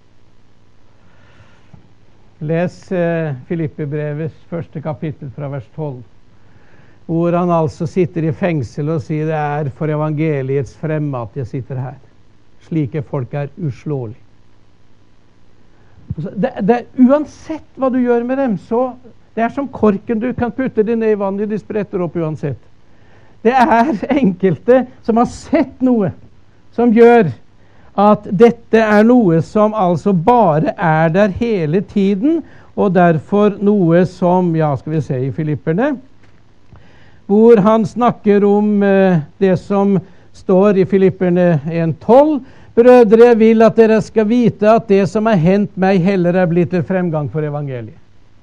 Les Filippi-brevets 1. kapittel fra vers 12, hvor han altså sitter i fengsel og sier det for evangeliets fremme at jeg sitter her. Slike folk uslåelige. Uansett hva du gjør med dem, så Det er som korken, du kan putte det ned i vannet, de spretter opp uansett. Det er enkelte som har sett noe som gjør at dette er noe som altså bare er der hele tiden, og derfor noe som, ja, skal vi se i Filipperne, hvor han snakker om det som står i Filipperne 1:12. Brødre, jeg vil at dere skal vite at det som er hendt meg heller er blitt til fremgang for evangeliet.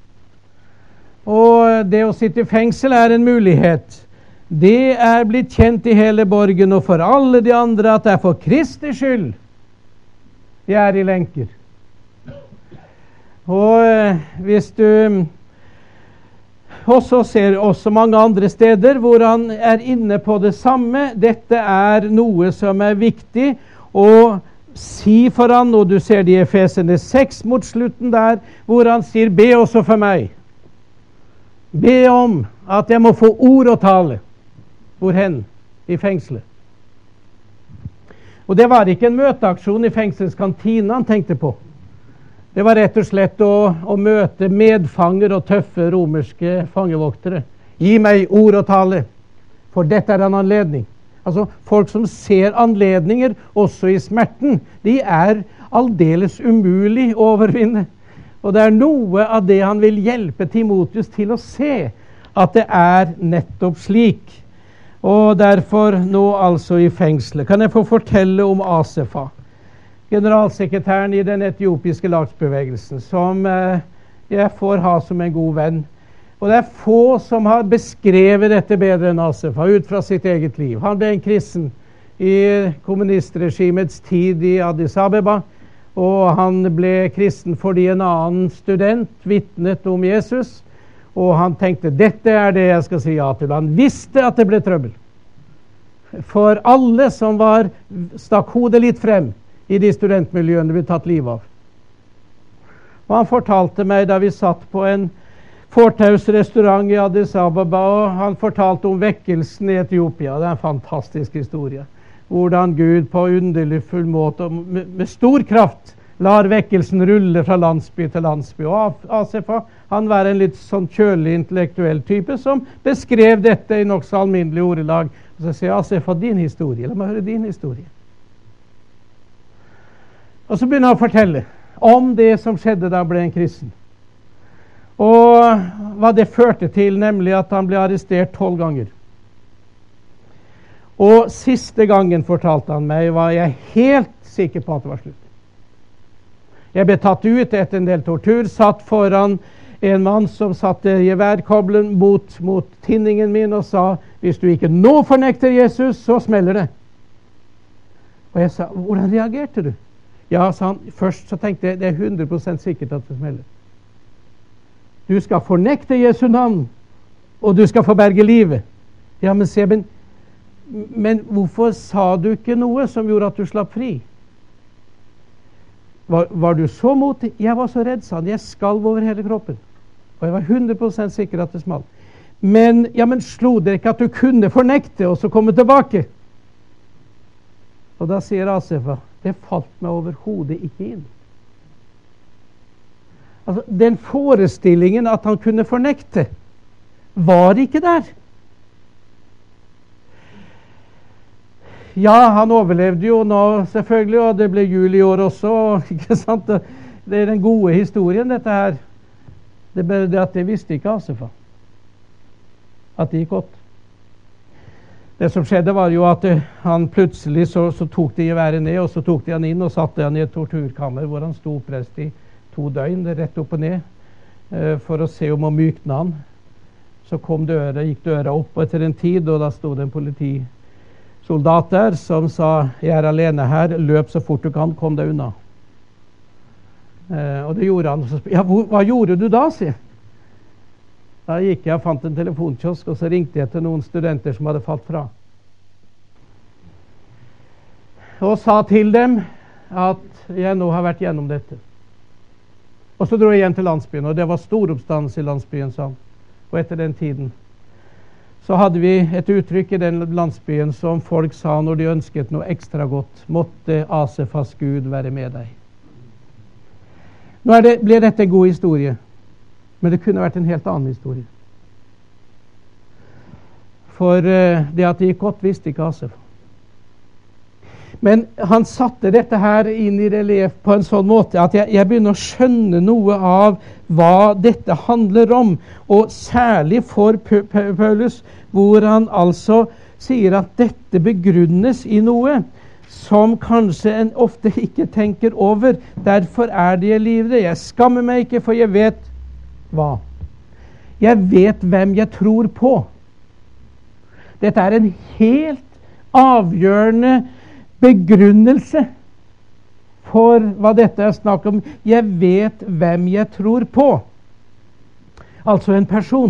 Og det å sitte i fengsel er en mulighet. Det er blitt kjent i hele borgen og for alle de andre at det er for Kristi skyld de er i lenker. Og hvis du også ser også mange andre steder hvor han er inne på det samme, dette er noe som er viktig å si for han, og du ser det i Efeserne 6 mot slutten der, hvor han sier, be også for meg. Be om at jeg må få ord å tale. Hvorhen? I fengselet. Og det var ikke en møteaksjon i fengselskantina han tenkte på. Det var rett og slett å møte medfanger og tøffe romerske fangevoktere. Gi meg ord å tale, for dette er en anledning. Altså, folk som ser anledninger også i smerten, de er aldeles umulig å overvinne. Og det er noe av det han vil hjelpe Timotheus til å se, at det er nettopp slik. Og derfor nå altså i fengselet. Kan jeg få fortelle om Asefa, generalsekretæren i den etiopiske lagsbevegelsen, som jeg får ha som en god venn. Og det er få som har beskrevet dette bedre enn Asefa, ut fra sitt eget liv. Han ble en kristen i kommunistregimets tid i Addis Abeba, og han ble kristen fordi en annen student vitnet om Jesus, og han tenkte, dette er det jeg skal si ja til. Han visste at det ble trøbbel. For alle som stakk hodet litt frem i de studentmiljøene ble tatt liv av. Og han fortalte meg da vi satt på en fortausrestaurant i Addis Ababa, og han fortalte om vekkelsen i Etiopia. Det er en fantastisk historie. Hvordan Gud på underlig full måte, med stor kraft, lar vekkelsen rulle fra landsby til landsby. Og Asefa, han var en litt sånn kjølig intellektuell type som beskrev dette i nok så alminnelig ordelag. Og så sier Asefa, din historie. La meg høre din historie. Og så begynner han å fortelle om det som skjedde da han ble en kristen. Og hva det førte til, nemlig at han ble arrestert 12 ganger. Og siste gangen, fortalte han meg, var jeg helt sikker på at det var slutt. Jeg ble tatt ut etter en del tortur, satt foran en mann som satte geværkoblen mot tinningen min og sa, hvis du ikke nå fornekter Jesus, så smeller det. Og jeg sa, hvordan reagerte du? Ja, sa han, først så tenkte jeg, det er 100% sikkert at det smeller. Du skal fornekte Jesu navn, og du skal forberge livet. Ja, men se, men hvorfor sa du ikke noe som gjorde at du slapp fri? Var du så motig? Jeg var så redd, sa han. Jeg skalv over hele kroppen. Og jeg var 100% sikker at det smalt. Men slo det ikke at du kunne fornekte og så komme tilbake? Og da sier Asefa, det falt meg overhodet ikke inn. Altså, den forestillingen at han kunne fornekte, var ikke der. Ja, han overlevde jo nå selvfølgelig, og det ble jul i år også, ikke sant? Det er den gode historien, dette her. Det er bare det at det visste ikke Asefa. At det gikk godt. Det som skjedde var jo at han plutselig så tok de geværet ned, og så tok de han inn og satte han i et torturkammer, hvor han sto oppreist i 2 døgn, rett opp og ned, for å se om å mykne han. Så gikk døra opp etter en tid, og da stod det en politisoldat der som sa, jeg er alene her, løp så fort du kan, kom deg unna. Og det gjorde han. Ja, hva gjorde du da, sier jeg. Da gikk jeg og fant en telefonkiosk, og så ringte jeg til noen studenter som hadde falt fra. Og sa til dem at jeg nå har vært gjennom dette. Og så dro jeg igjen til landsbyen, og det var stor oppstandelse i landsbyen, sa han. Og etter den tiden så hadde vi et uttrykk i den landsbyen som folk sa når de ønsket noe ekstra godt. Måtte Asefas Gud være med deg. Nå blir dette en god historie. Men det kunne vært en helt annen historie. For det at det gikk godt, visste ikke Asaf. Men han satte dette her inn i relief på en sånn måte at jeg begynner å skjønne noe av hva dette handler om. Og særlig for Paulus, hvor han altså sier at dette begrunnes i noe som kanskje en ofte ikke tenker over. Derfor er det jeg livrer. Jeg skammer meg ikke, for jeg vet hva. Jeg vet hvem jeg tror på. Dette er en helt avgjørende begrunnelse for hva dette er snakk om. Jeg vet hvem jeg tror på. Altså en person.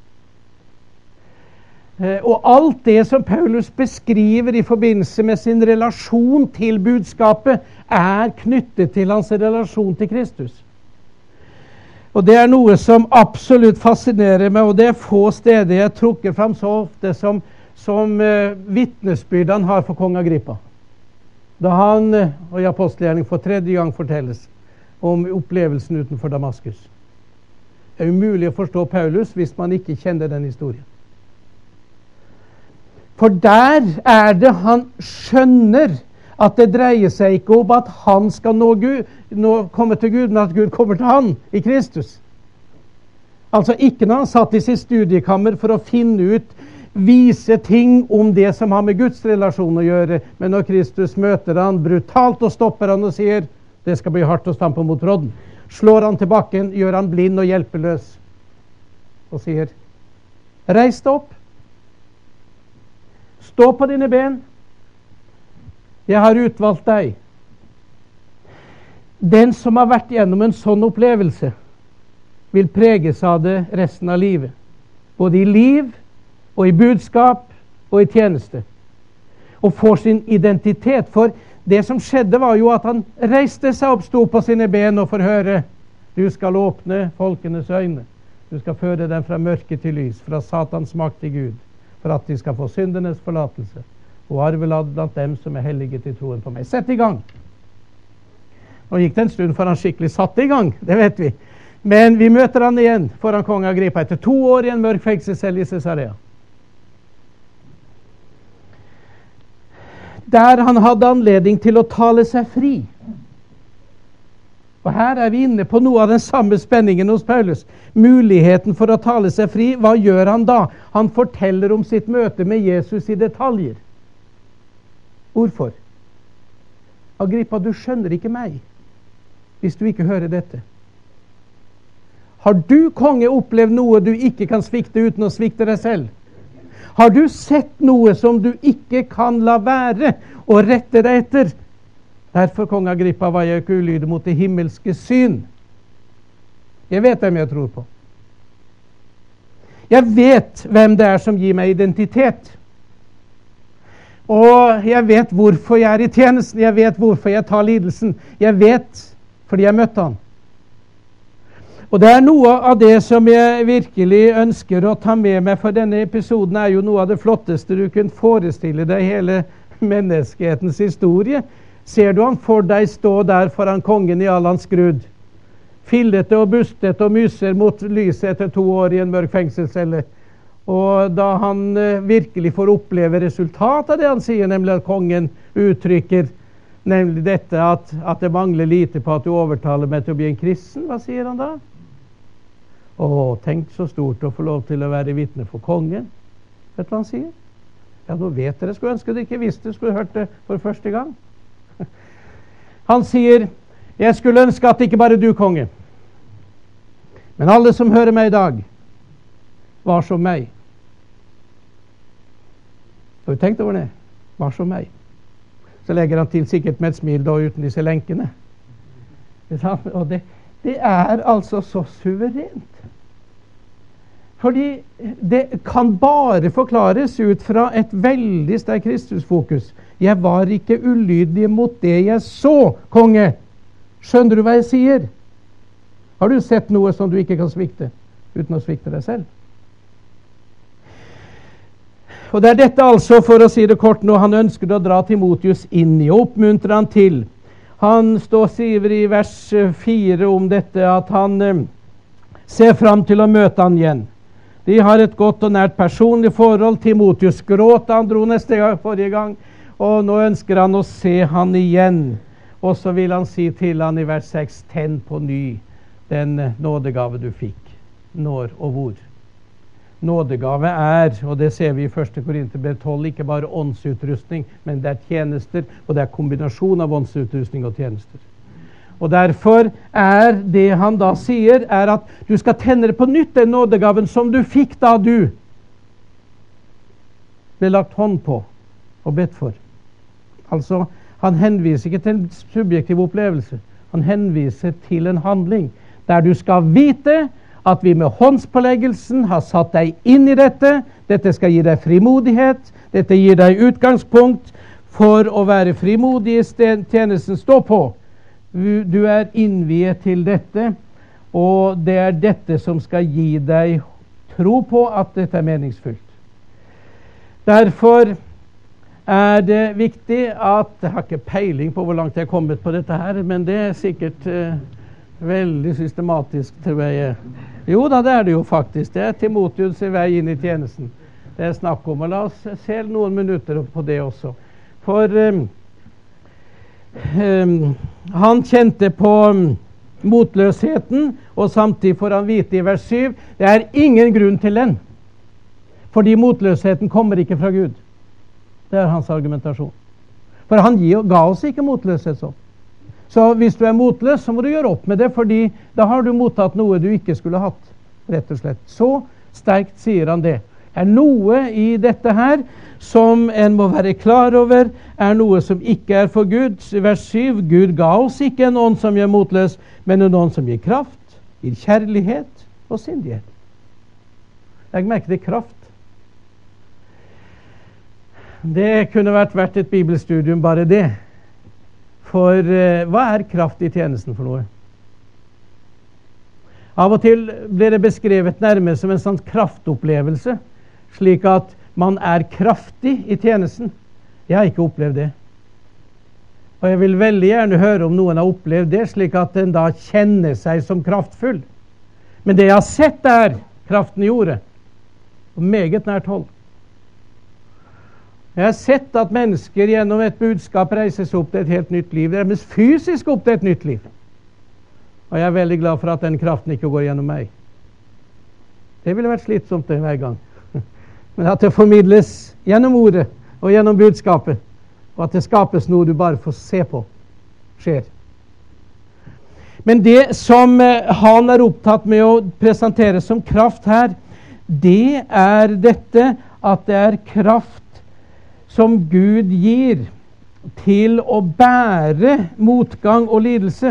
Og alt det som Paulus beskriver i forbindelse med sin relasjon til budskapet, er knyttet til hans relasjon til Kristus. Og det er noe som absolutt fascinerer meg, og det er få steder jeg trukker fram så ofte som vitnesbyrd han har for kong Agrippa. Da han og i apostelgjerning for 3. gang fortelles om opplevelsen utenfor Damaskus. Det er umulig å forstå Paulus hvis man ikke kjenner den historien. For der er det han skjønner at det dreier seg ikke om at han skal komme til Gud, men at Gud kommer til han i Kristus. Altså ikke når han satt i sitt studiekammer for å finne ut, vise ting om det som har med Guds relasjon å gjøre, men når Kristus møter han brutalt og stopper han og sier, det skal bli hardt å stampe mot brodden. Slår han til bakken, gjør han blind og hjelpeløs, og sier, reis deg opp, stå på dine ben, jeg har utvalgt deg. Den som har vært gjennom en sånn opplevelse, vil preges av det resten av livet. Både i liv, og i budskap, og i tjeneste. Og får sin identitet. For det som skjedde var jo at han reiste seg opp, sto på sine ben og får høre, du skal åpne folkenes øyne. Du skal føre dem fra mørke til lys, fra Satans makt til Gud, for at de skal få syndenes forlatelse, og arvelad blant dem som er hellige til troen på meg. Sett i gang! Nå gikk det en stund for han skikkelig satte i gang, det vet vi. Men vi møter han igjen foran kong Agrippa etter 2 år i en mørk fengselscelle i Cesarea. Der han hadde anledning til å tale seg fri. Og her er vi inne på noe av den samme spenningen hos Paulus. Muligheten for å tale seg fri, hva gjør han da? Han forteller om sitt møte med Jesus i detaljer. Hvorfor? Agrippa, du skjønner ikke meg hvis du ikke hører dette. Har du, konge, opplevd noe du ikke kan svikte uten å svikte deg selv? Har du sett noe som du ikke kan la være og rette deg etter? Derfor, kong Agrippa, var jeg ikke ulydig mot det himmelske syn. Jeg vet hvem jeg tror på. Jeg vet hvem det er som gir meg identitet. Og jeg vet hvorfor jeg er i tjenesten. Jeg vet hvorfor jeg tar lidelsen. Jeg vet fordi jeg møtte han. Og det er noe av det som jeg virkelig ønsker å ta med meg, for denne episoden er jo noe av det flotteste du kunne forestille deg hele menneskehetens historie. Ser du han for deg stå der foran kongen i all hans skrud, fillete og bustete og myser mot lyset etter 2 år i en mørk fengselscelle. Og da han virkelig får oppleve resultatet av det han sier, nemlig at kongen uttrykker, nemlig dette at det mangler lite på at du overtaler meg til å bli en kristen, hva sier han da? Tenk så stort å få lov til å være vitne for kongen. Vet du hva han sier? Ja, nå vet dere, skulle ønske dere ikke visste, skulle hørt det for første gang. Han sier, jeg skulle ønske at ikke bare du, konge, men alle som hører meg i dag, var som meg. Har du tenkt over det? Var som meg. Så legger han til sikkert med et smil da uten disse lenkene. Og det er altså så suverent. Fordi det kan bare forklares ut fra et veldig sterkt Kristusfokus. Jeg var ikke ulydig mot det jeg så, konge. Skjønner du hva jeg sier? Har du sett noe som du ikke kan svikte, uten å svikte deg selv? Og det er dette altså, for å si det kort nå, han ønsker å dra Timotius inn i og oppmuntre han til. Han sier i vers 4 om dette at han ser fram til å møte han igjen. De har et godt og nært personlig forhold. Timotheus gråt da han dro forrige gang, og nå ønsker han å se han igjen. Og så vil han si til han i vers 6, tenn på ny den nådegave du fikk. Når og hvor. Nådegave og det ser vi i 1. Korinterbrev 12, ikke bare åndsutrustning, men det tjenester, og det kombinasjon av åndsutrustning og tjenester. Og derfor det han da sier, at du skal tenne på nytt den nådegaven som du fikk da du ble lagt hånd på og bedt for. Altså, han henviser ikke til en subjektiv opplevelse. Han henviser til en handling, der du skal vite at vi med håndspåleggelsen har satt deg inn i dette. Dette skal gi deg frimodighet. Dette gir deg utgangspunkt for å være frimodig i tjenesten stå på. Du innviet til dette, og det dette som skal gi deg tro på at dette meningsfullt. Derfor det viktig at jeg har ikke peiling på hvor langt jeg har kommet på dette her, men det sikkert veldig systematisk, tror jeg. Jo da, det det jo faktisk. Det Timotheus i vei inn i tjenesten. Det snakk om, og la oss se noen minutter på det også. For han kjente på motløsheten, og samtidig får han vite i vers 7, det ingen grunn til den. Fordi motløsheten kommer ikke fra Gud. Det hans argumentasjon. For han ga oss ikke motløshet sånn. Så hvis du motløs, så må du gjøre opp med det, fordi da har du mottatt noe du ikke skulle hatt, rett og slett. Så sterkt sier han det. Noe i dette her som en må være klar over, noe som ikke for Gud. Vers 7, Gud ga oss ikke en ånd som gjør motløs, men en ånd som gir kraft, gir kjærlighet og sindighet. Legg merke til kraft. Det kunne vært verdt et bibelstudium, bare det. For hva kraft i tjenesten for noe? Av og til blir det beskrevet nærmest som en sånn kraftopplevelse, slik at man kraftig i tjenesten. Jeg har ikke opplevd det. Og jeg vil veldig gjerne høre om noen har opplevd det, slik at den da kjenner seg som kraftfull. Men det jeg har sett kraften i ordet, og meget nært hold. Jeg har sett at mennesker gjennom et budskap reises opp til et helt nytt liv. Det mest fysisk opp til et nytt liv. Og jeg veldig glad for at den kraften ikke går gjennom meg. Det ville vært slitsomt hver gang. Men at det formidles gjennom ordet og gjennom budskapet, og at det skapes noe du bare får se på, skjer. Men det som han opptatt med å presentere som kraft her, det dette at det kraft som Gud gir til å bære motgang og lidelse.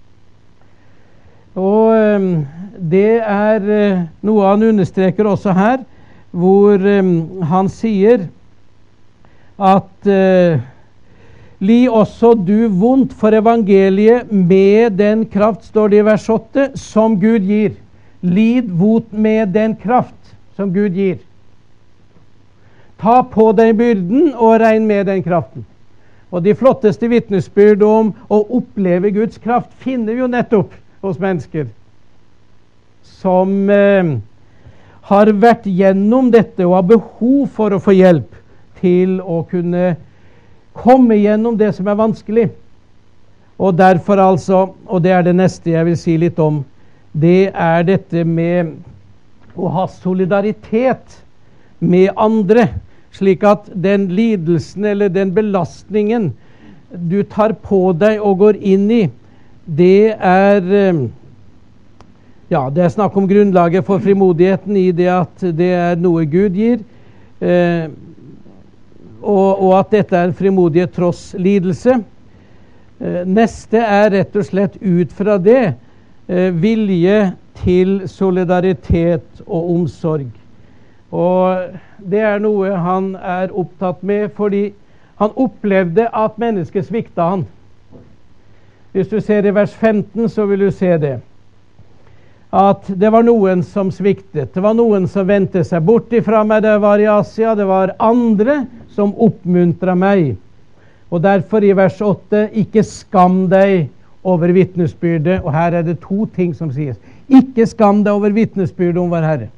Og det noe han understreker også her, hvor han sier at li også du vondt for evangeliet med den kraft, står det i vers 8, som Gud gir. Lid vondt med den kraft som Gud gir. Ta på deg byrden og regn med den kraften. Og de flotteste vitnesbyrd om å oppleve Guds kraft finner vi jo nettopp hos mennesker som har vært gjennom dette og har behov for å få hjelp til å kunne komme gjennom det som vanskelig. Og derfor altså, og det det neste jeg vil si litt om, det dette med å ha solidaritet med andre, slik at den lidelsen eller den belastningen du tar på deg og går inn i, det det snakk om grunnlaget for frimodigheten i det at det noe Gud gir, og at dette en frimodighet tross lidelse. Neste rett og slett ut fra det vilje til solidaritet og omsorg. Og det noe han opptatt med, fordi han opplevde at mennesket svikta han. Hvis du ser i vers 15, så vil du se det. At det var noen som sviktet. Det var noen som vendte seg bort ifra meg da jeg var i Asia. Det var andre som oppmuntret meg. Og derfor i vers 8, ikke skam deg over vitnesbyrdet. Og her det to ting som sies. Ikke skam deg over vitnesbyrd om vår Herre.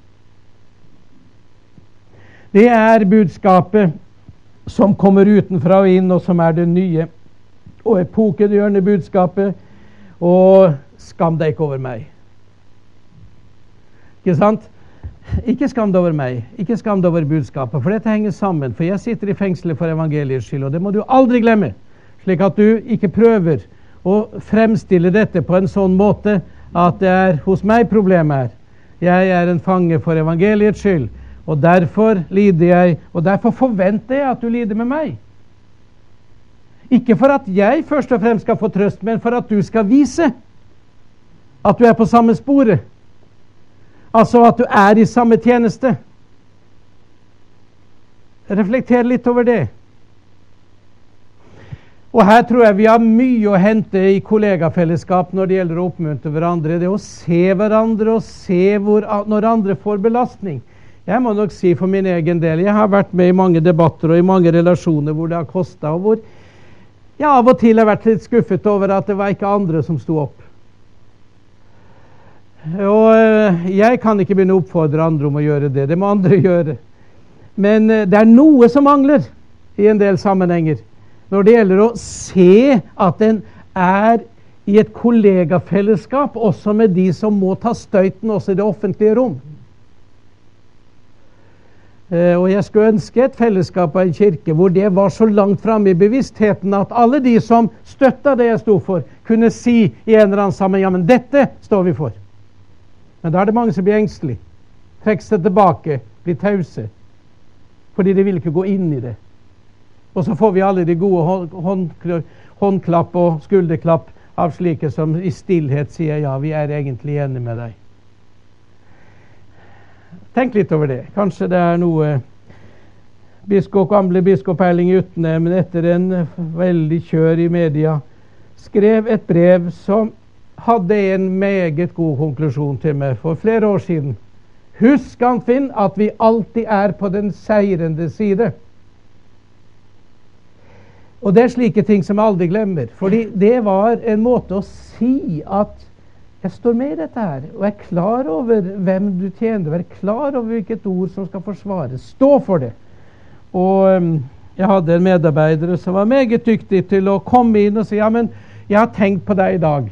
Det er budskapet som kommer utenfra og inn, og som er det nye og epokegjørende budskapet. Og skam deg ikke over meg. Ikke sant? Ikke skam deg over meg, ikke skam deg over budskapet, for dette henger sammen. For jeg sitter i fengselet for evangeliets skyld, og det må du aldri glemme. Slik at du ikke prøver å fremstille dette på en sånn måte at det er hos meg problemet er. Jeg er en fange for evangeliets skyld, og derfor lider jeg, og derfor forventer jeg at du lider med meg. Ikke for at jeg først og fremst skal få trøst, men for at du skal vise at du er på samme sporet. Altså at du er i samme tjeneste. Reflekter litt over det. Og her tror jeg vi har mye å hente i kollegafellesskap når det gjelder å oppmuntre hverandre. Det å se hverandre og se når andre får belastning. Jeg må nok si for min egen del, jeg har vært med i mange debatter og i mange relasjoner hvor det har kostet, og hvor jeg av og til har vært litt skuffet over at det var ikke andre som sto opp. Og jeg kan ikke begynne å oppfordre andre om å gjøre det. Det må andre gjøre. Men det er noe som mangler i en del sammenhenger når det gjelder å se at en er i et kollegafellesskap også med de som må ta støyten også i det offentlige rom. Og jeg skulle ønske et fellesskap av en kirke hvor det var så langt fremme i bevisstheten at alle de som støtta det jeg sto for, kunne si i en eller annen sammen, ja, men dette står vi for. Men da er det mange som blir engstelig, trekker seg tilbake, blir tause, fordi de vil ikke gå inn i det. Og så får vi alle de gode håndklapp og skulderklapp av slike som i stillhet sier, ja, vi er egentlig enige med deg. Tenk litt over det. Kanskje det er noe gamle biskop Erling Utne, etter en veldig kjør i media, skrev et brev som hadde en meget god konklusjon til meg for flere år siden. Husk, Anfinn, at vi alltid er på den seirende side. Og det er slike ting som jeg aldri glemmer. Fordi det var en måte å si at jeg står med i dette her, og er klar over hvem du tjener, og er klar over hvilket ord som skal forsvares. Stå for det. Og jeg hadde en medarbeider som var meget dyktig til å komme inn og si, ja, men jeg har tenkt på deg i dag.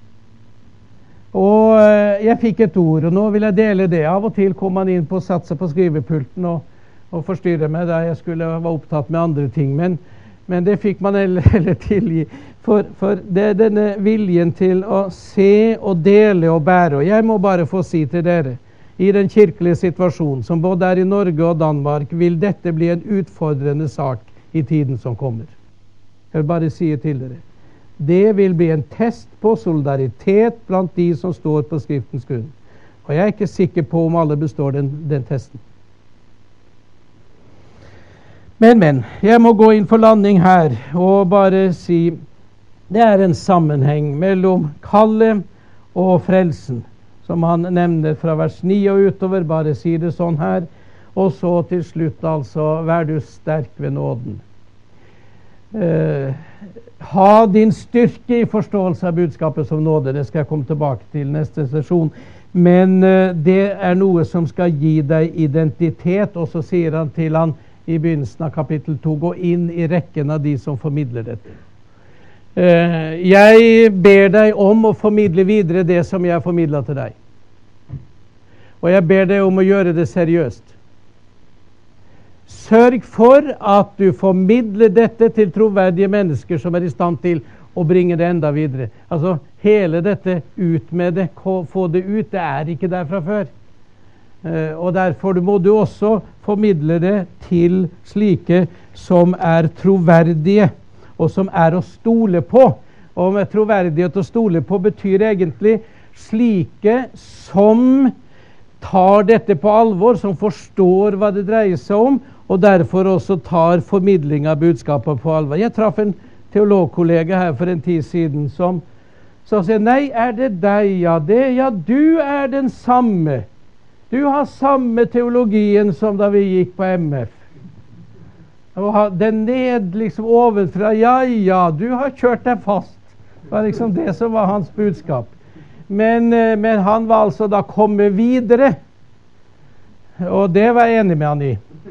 Og jeg fikk et ord, og nå vil jeg dele det. Av og til kom han inn på å satse på skrivepulten og forstyrre meg da jeg skulle være opptatt med andre ting. Men det fikk man heller tilgi. For det er denne viljen til å se og dele og bære. Og jeg må bare få si til dere, i den kirkelige situasjonen, som både er i Norge og Danmark, vil dette bli en utfordrende sak i tiden som kommer. Jeg vil bare si til dere. Det vil bli en test på solidaritet blant de som står på Skriftens grunn. Og jeg er ikke sikker på om alle består den testen. Men, jeg må gå inn for landing her og bare si det er en sammenheng mellom kallet og frelsen, som han nevner fra vers 9 og utover, bare si det sånn her, og så til slutt altså, vær du sterk ved nåden. Ha din styrke i forståelse av budskapet som nåde. Det skal jeg komme tilbake til neste sesjon. Men det er noe som skal gi deg identitet, og så sier han til han i begynnelsen av kapittel 2, gå inn i rekken av de som formidler dette. Jeg ber deg om å formidle videre det som jeg har formidlet til deg. Og jeg ber deg om å gjøre det seriøst. Sørg for at du formidler dette til troverdige mennesker som er i stand til å bringe det enda videre. Altså hele dette ut med det, få det ut, det er ikke der fra før. Og derfor må du også formidle det til slike som er troverdige, og som er å stole på. Og med troverdighet å stole på betyr egentlig slike som tar dette på alvor, som forstår hva det dreier seg om, og derfor også tar formidling av budskapet på alvor. Jeg traff en teologkollega her for en tid siden som sier, nei, er det deg? Ja, du er den samme. Du har samme teologien som da vi gikk på MF. Og den ned liksom ovenfra, ja, du har kjørt deg fast. Det var liksom det som var hans budskap. Men han var altså da kommet videre, og det var jeg enig med han i.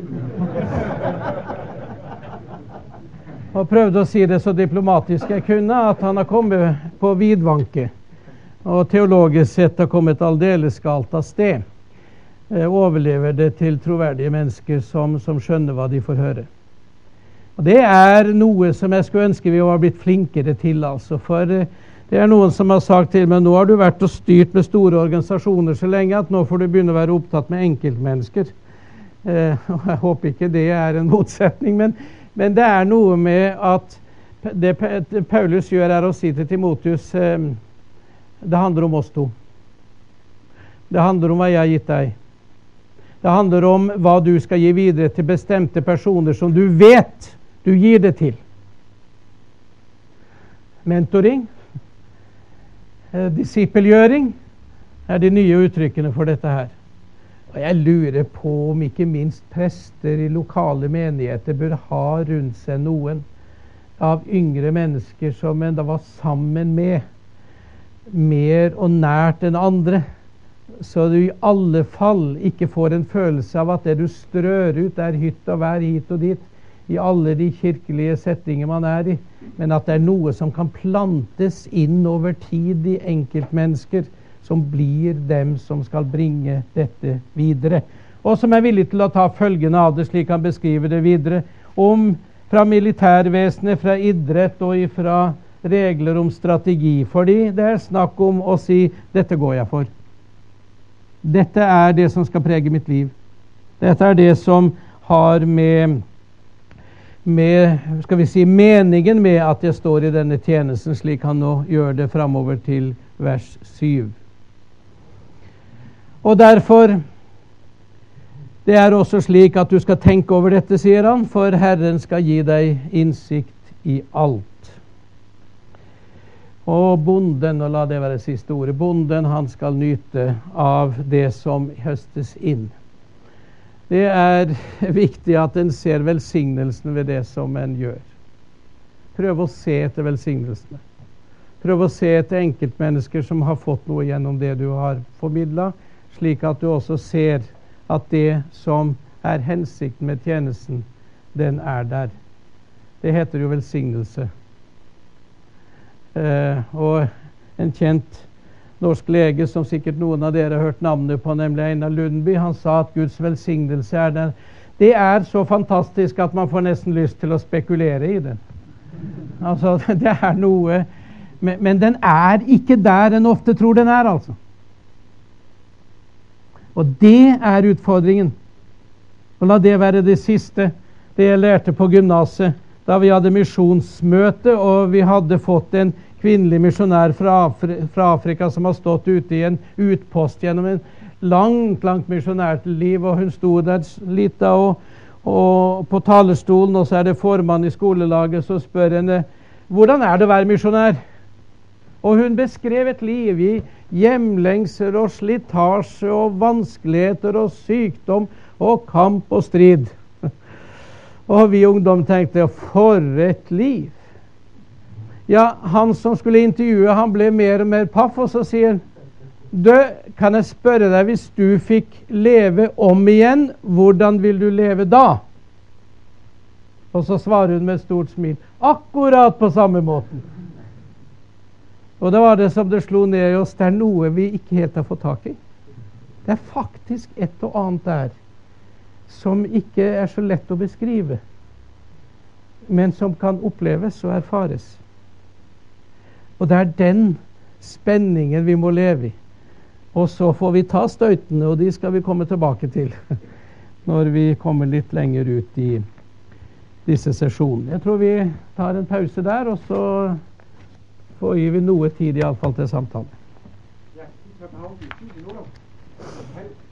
Og prøvde å si det så diplomatisk jeg kunne, at han har kommet på vidvanke, og teologisk sett har kommet aldeles galt av sted. Overlever det til troverdige mennesker som skjønner hva de får høre. Og det er noe som jeg skulle ønske vi var blitt flinkere til, altså. For det er noen som har sagt til meg, nå har du vært og styrt med store organisasjoner så lenge at nå får du begynne å være opptatt med enkeltmennesker. Og jeg håper ikke det er en motsetning, men det er noe med at det Paulus gjør er å si til Timotheus, det handler om oss to. Det handler om hva jeg har gitt deg. Det handler om hva du skal gi videre til bestemte personer som du vet du gir det til. Mentoring, disippelgjøring er de nye uttrykkene for dette her. Og jeg lurer på om ikke minst prester i lokale menigheter bør ha rundt seg noen av yngre mennesker som en da var sammen med mer og nært enn andre, så du i alle fall ikke får en følelse av at det du strør ut er hytt og vær hit og dit i alle de kirkelige settinger man er i, men at det er noe som kan plantes inn over tid i enkeltmennesker som blir dem som skal bringe dette videre, og som er villig til å ta følgene av det, slik han beskriver det videre, om fra militærvesenet, fra idrett og fra regler om strategi, fordi det er snakk om å si, dette går jeg for. Dette er det som skal prege mitt liv. Dette er det som har med skal vi si, meningen med at jeg står i denne tjenesten, slik han nå gjør det fremover til vers 7. Og derfor, det er også slik at du skal tenke over dette, sier han, for Herren skal gi deg innsikt i alt. Og bonden, og la det være siste ordet, bonden han skal nyte av det som høstes inn. Det er viktig at en ser velsignelsen ved det som en gjør. Prøv å se etter velsignelsene. Prøv å se etter enkeltmennesker som har fått noe gjennom det du har formidlet, slik at du også ser at det som er hensikten med tjenesten, den er der. Det heter jo velsignelse. Og en kjent norsk lege som sikkert noen av dere har hørt navnet på, nemlig Einar Lundby, han sa at Guds velsignelse er den. Det er så fantastisk at man får nesten lyst til å spekulere i den. Altså, det er noe, men den er ikke der en ofte tror den er, altså. Og det er utfordringen. Og la det være det siste, det jeg lærte på gymnaset, da vi hadde misjonsmøte, og vi hadde fått en kvinnelig misjonær fra Afrika som har stått ute i en utpost gjennom en langt misjonært liv, og hun sto der litt og på talerstolen, og så er det formann i skolelaget som spør henne, hvordan er det å være misjonær? Og hun beskrev et liv i hjemlengsel og slitasje og vanskeligheter og sykdom og kamp og strid. Og vi ungdom tenkte, for et liv! Ja, han som skulle intervjue, han ble mer og mer paff, og så sier han, du, kan jeg spørre deg, hvis du fikk leve om igjen, hvordan vil du leve da? Og så svarer hun med et stort smil, akkurat på samme måten. Og da var det som det slo ned i oss, det er noe vi ikke helt har fått tak i. Det er faktisk et og annet der, som ikke er så lett å beskrive, men som kan oppleves og erfares. Og det er den spenningen vi må leve i. Og så får vi ta støytene, og de skal vi komme tilbake til når vi kommer litt lenger ut i disse sesjonene. Jeg tror vi tar en pause der, og så får vi noe tid i alle fall til samtale.